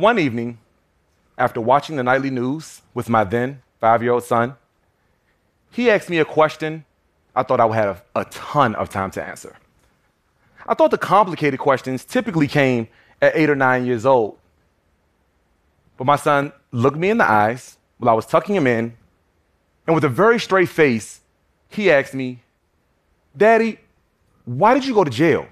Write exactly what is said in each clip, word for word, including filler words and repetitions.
One evening, after watching the nightly news with my then five-year-old son, he asked me a question I thought I would have a ton of time to answer. I thought the complicated questions typically came at eight or nine years old. But my son looked me in the eyes while I was tucking him in, and with a very straight face, he asked me, "Daddy, why did you go to jail?"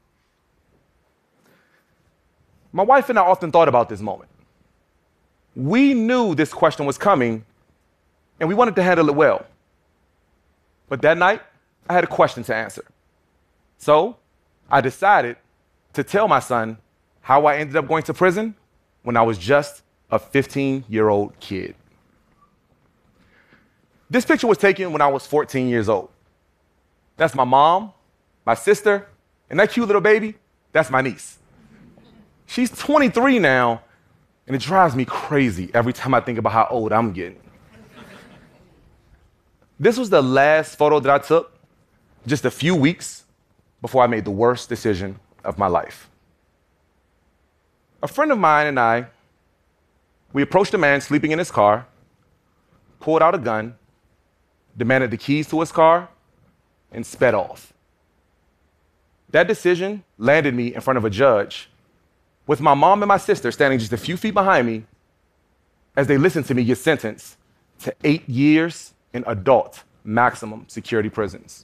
My wife and I often thought about this moment. We knew this question was coming, and we wanted to handle it well. But that night, I had a question to answer. So I decided to tell my son how I ended up going to prison when I was just a fifteen-year-old kid. This picture was taken when I was fourteen years old. That's my mom, my sister, and that cute little baby, that's my niece. She's twenty-three now, and it drives me crazy every time I think about how old I'm getting. This was the last photo that I took just a few weeks before I made the worst decision of my life. A friend of mine and I, we approached a man sleeping in his car, pulled out a gun, demanded the keys to his car, and sped off. That decision landed me in front of a judge, with my mom and my sister standing just a few feet behind me as they listened to me get sentenced to eight years in adult maximum security prisons.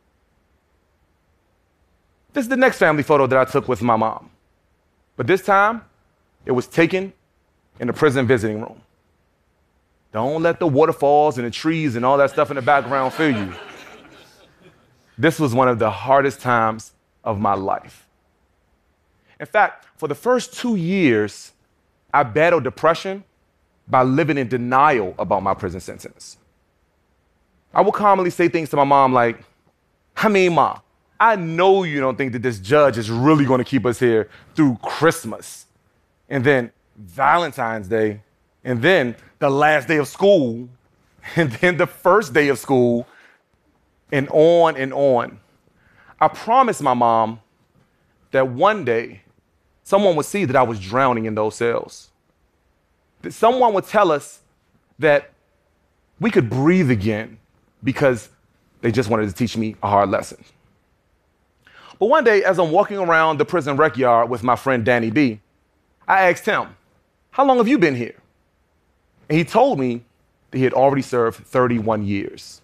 This is the next family photo that I took with my mom, but this time it was taken in the prison visiting room. Don't let the waterfalls and the trees and all that stuff in the background fool you. This was one of the hardest times of my life. In fact, for the first two years, I battled depression by living in denial about my prison sentence. I would commonly say things to my mom like, I mean, Ma, I know you don't think that this judge is really going to keep us here through Christmas, and then Valentine's Day, and then the last day of school, and then the first day of school, and on and on. I promised my mom that one day someone would see that I was drowning in those cells. That someone would tell us that we could breathe again because they just wanted to teach me a hard lesson. But one day, as I'm walking around the prison rec yard with my friend Danny B, I asked him, "How long have you been here?" And he told me that he had already served thirty-one years.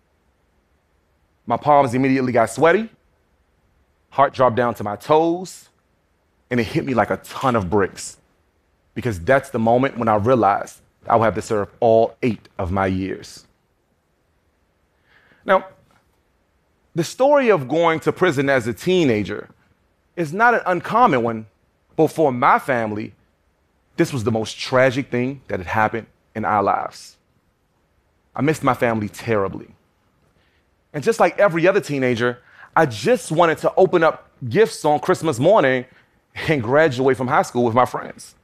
My palms immediately got sweaty, heart dropped down to my toes, and it hit me like a ton of bricks, because that's the moment when I realized I would have to serve all eight of my years. Now, the story of going to prison as a teenager is not an uncommon one, but for my family, this was the most tragic thing that had happened in our lives. I missed my family terribly. And just like every other teenager, I just wanted to open up gifts on Christmas morning and graduate from high school with my friends.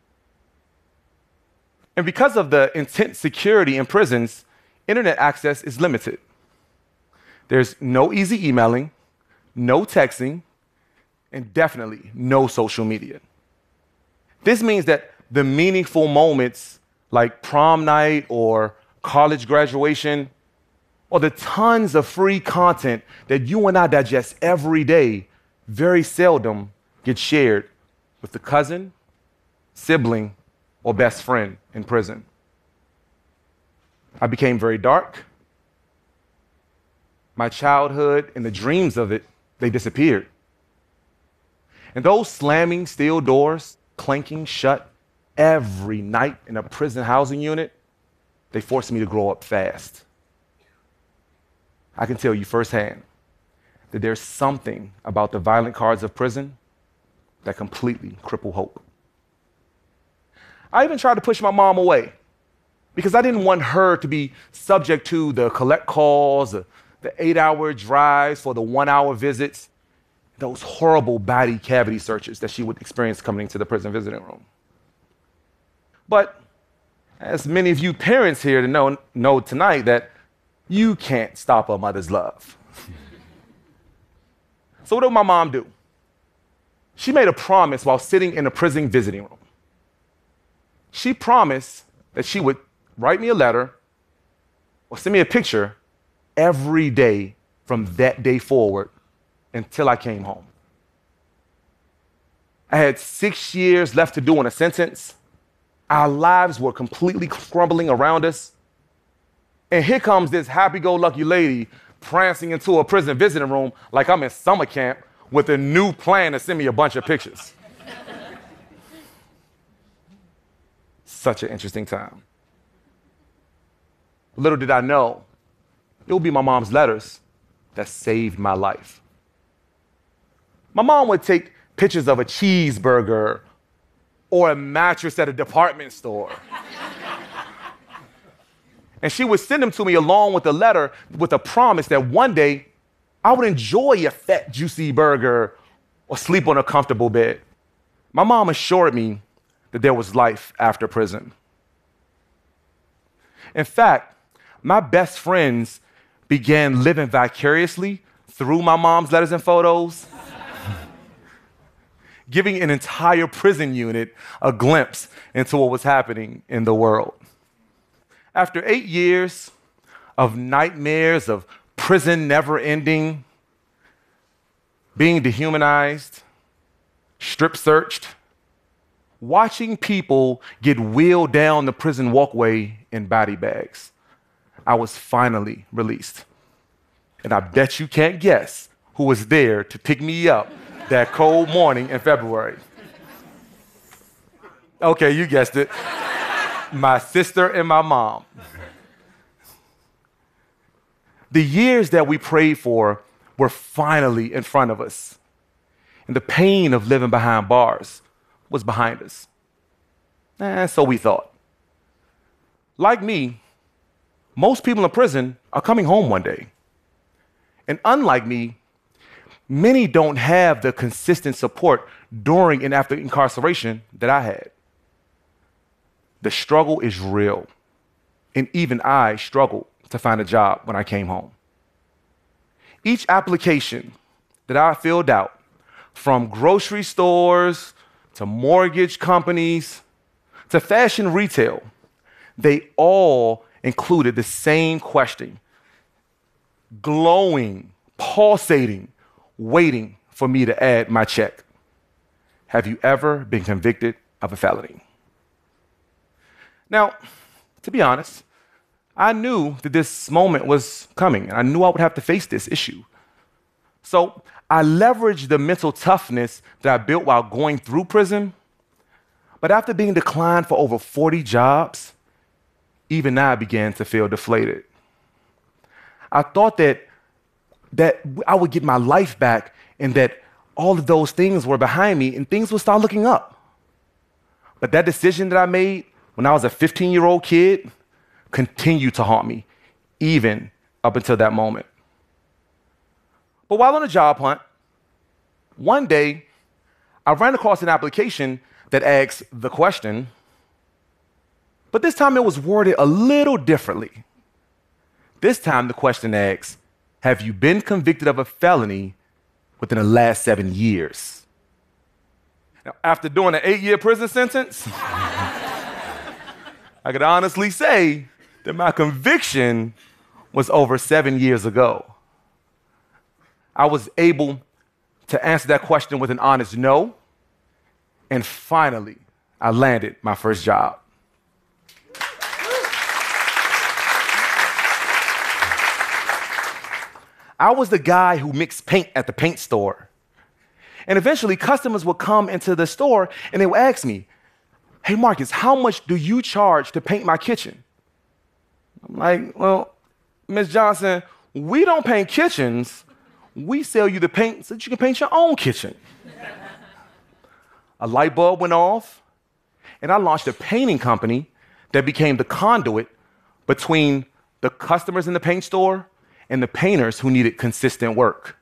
And because of the intense security in prisons, internet access is limited. There's no easy emailing, no texting, and definitely no social media. This means that the meaningful moments like prom night or college graduation, or the tons of free content that you and I digest every day, very seldom get shared with the cousin, sibling, or best friend in prison. I became very dark. My childhood and the dreams of it, they disappeared. And those slamming steel doors, clanking shut every night in a prison housing unit, they forced me to grow up fast. I can tell you firsthand that there's something about the violent cards of prison that completely cripple hope. I even tried to push my mom away because I didn't want her to be subject to the collect calls, the eight-hour drives for the one-hour visits, those horrible body cavity searches that she would experience coming into the prison visiting room. But as many of you parents here to know, know tonight that you can't stop a mother's love. So what did my mom do? She made a promise while sitting in a prison visiting room. She promised that she would write me a letter or send me a picture every day from that day forward until I came home. I had six years left to do in a sentence. Our lives were completely crumbling around us. And here comes this happy-go-lucky lady prancing into a prison visiting room like I'm in summer camp with a new plan to send me a bunch of pictures. Such an interesting time. Little did I know, it would be my mom's letters that saved my life. My mom would take pictures of a cheeseburger or a mattress at a department store. And she would send them to me along with a letter with a promise that one day I would enjoy a fat, juicy burger or sleep on a comfortable bed. My mom assured me that there was life after prison. In fact, my best friends began living vicariously through my mom's letters and photos, giving an entire prison unit a glimpse into what was happening in the world. After eight years of nightmares of prison never ending, being dehumanized, strip searched, watching people get wheeled down the prison walkway in body bags, I was finally released. And I bet you can't guess who was there to pick me up that cold morning in February. Okay, you guessed it. My sister and my mom. The years that we prayed for were finally in front of us. And the pain of living behind bars was behind us. And so we thought. Like me, most people in prison are coming home one day. And unlike me, many don't have the consistent support during and after incarceration that I had. The struggle is real. And even I struggled to find a job when I came home. Each application that I filled out, from grocery stores to mortgage companies to fashion retail, they all included the same question, glowing, pulsating, waiting for me to add my check. Have you ever been convicted of a felony? Now, to be honest, I knew that this moment was coming, and I knew I would have to face this issue. So I leveraged the mental toughness that I built while going through prison. But after being declined for over forty jobs, even I began to feel deflated. I thought that, that I would get my life back and that all of those things were behind me and things would start looking up. But that decision that I made when I was a fifteen-year-old kid continued to haunt me, even up until that moment. But while on a job hunt, one day I ran across an application that asked the question, but this time it was worded a little differently. This time the question asks, have you been convicted of a felony within the last seven years? Now, after doing an eight-year prison sentence, I could honestly say that my conviction was over seven years ago. I was able to answer that question with an honest no, and finally, I landed my first job. I was the guy who mixed paint at the paint store. And eventually, customers would come into the store and they would ask me, hey, Marcus, how much do you charge to paint my kitchen? I'm like, well, Miz Johnson, we don't paint kitchens. We sell you the paint so that you can paint your own kitchen. A light bulb went off, and I launched a painting company that became the conduit between the customers in the paint store and the painters who needed consistent work.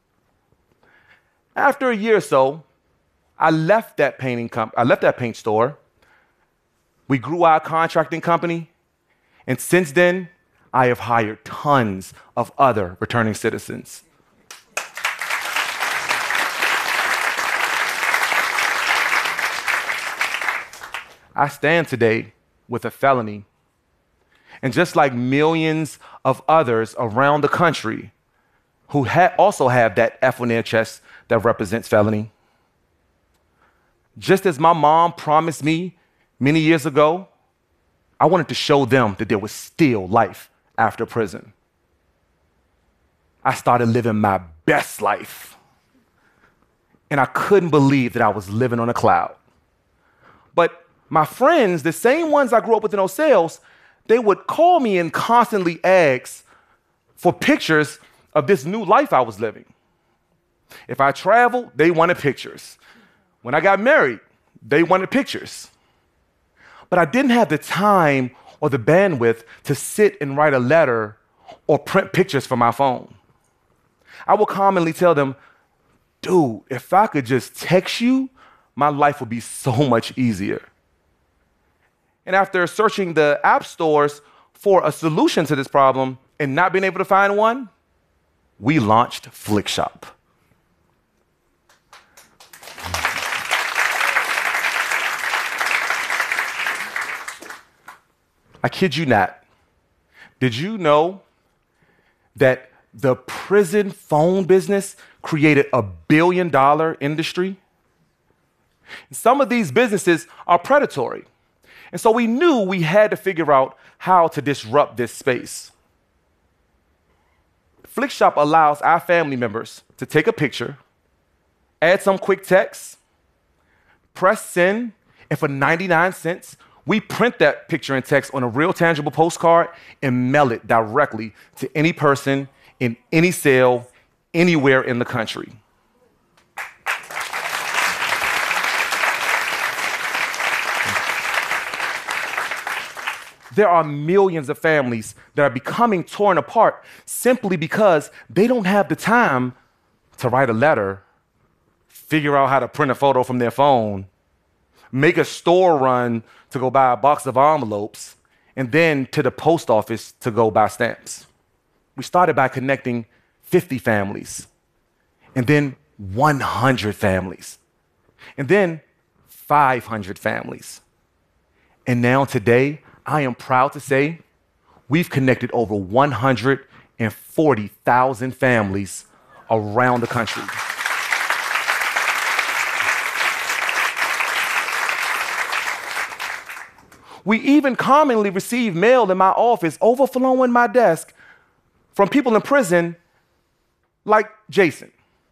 After a year or so, I left that painting comp- I left that paint store. We grew our contracting company, and since then, I have hired tons of other returning citizens. I stand today with a felony. And just like millions of others around the country who ha- also have that F on their chest that represents felony, just as my mom promised me many years ago, I wanted to show them that there was still life after prison. I started living my best life. And I couldn't believe that I was living on a cloud. But my friends, the same ones I grew up with in those cells, they would call me and constantly ask for pictures of this new life I was living. If I traveled, they wanted pictures. When I got married, they wanted pictures. But I didn't have the time or the bandwidth to sit and write a letter or print pictures from my phone. I would commonly tell them, dude, if I could just text you, my life would be so much easier. And after searching the app stores for a solution to this problem and not being able to find one, we launched Flickshop. I kid you not. Did you know that the prison phone business created a billion dollar industry? Some of these businesses are predatory. And so we knew we had to figure out how to disrupt this space. Flickshop allows our family members to take a picture, add some quick text, press send, and for ninety-nine cents, we print that picture and text on a real tangible postcard and mail it directly to any person in any cell, anywhere in the country. There are millions of families that are becoming torn apart simply because they don't have the time to write a letter, figure out how to print a photo from their phone, make a store run to go buy a box of envelopes, and then to the post office to go buy stamps. We started by connecting fifty families, and then one hundred families, and then five hundred families. And now today, I am proud to say we've connected over one hundred forty thousand families around the country. We even commonly receive mail in my office overflowing my desk from people in prison like Jason.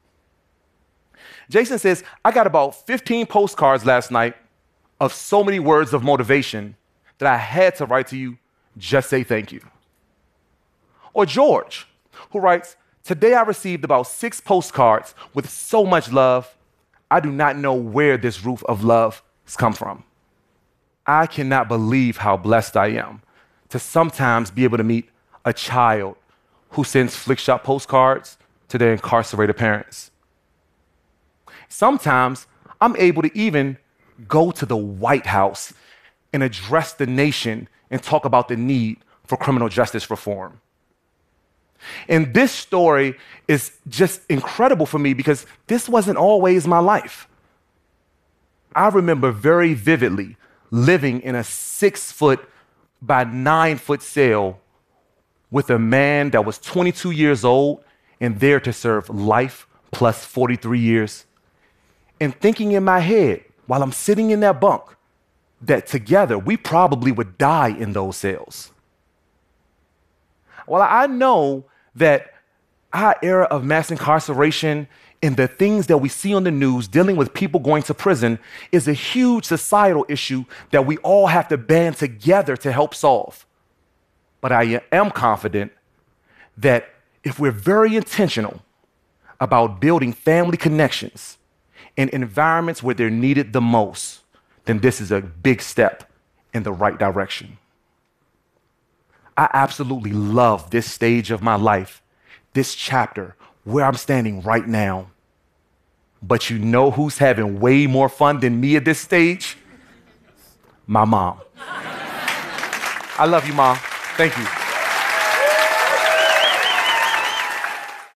Jason says, I got about fifteen postcards last night of so many words of motivation that I had to write to you, just say thank you. Or George, who writes, today I received about six postcards with so much love, I do not know where this roof of love has come from. I cannot believe how blessed I am to sometimes be able to meet a child who sends Flickshop postcards to their incarcerated parents. Sometimes I'm able to even go to the White House and address the nation and talk about the need for criminal justice reform. And this story is just incredible for me because this wasn't always my life. I remember very vividly living in a six foot by nine foot cell with a man that was twenty-two years old and there to serve life plus forty-three years. And thinking in my head while I'm sitting in that bunk that together we probably would die in those cells. Well, I know that our era of mass incarceration and the things that we see on the news dealing with people going to prison is a huge societal issue that we all have to band together to help solve. But I am confident that if we're very intentional about building family connections in environments where they're needed the most, then this is a big step in the right direction. I absolutely love this stage of my life, this chapter where I'm standing right now. But you know who's having way more fun than me at this stage? My mom. I love you, Mom. Thank you.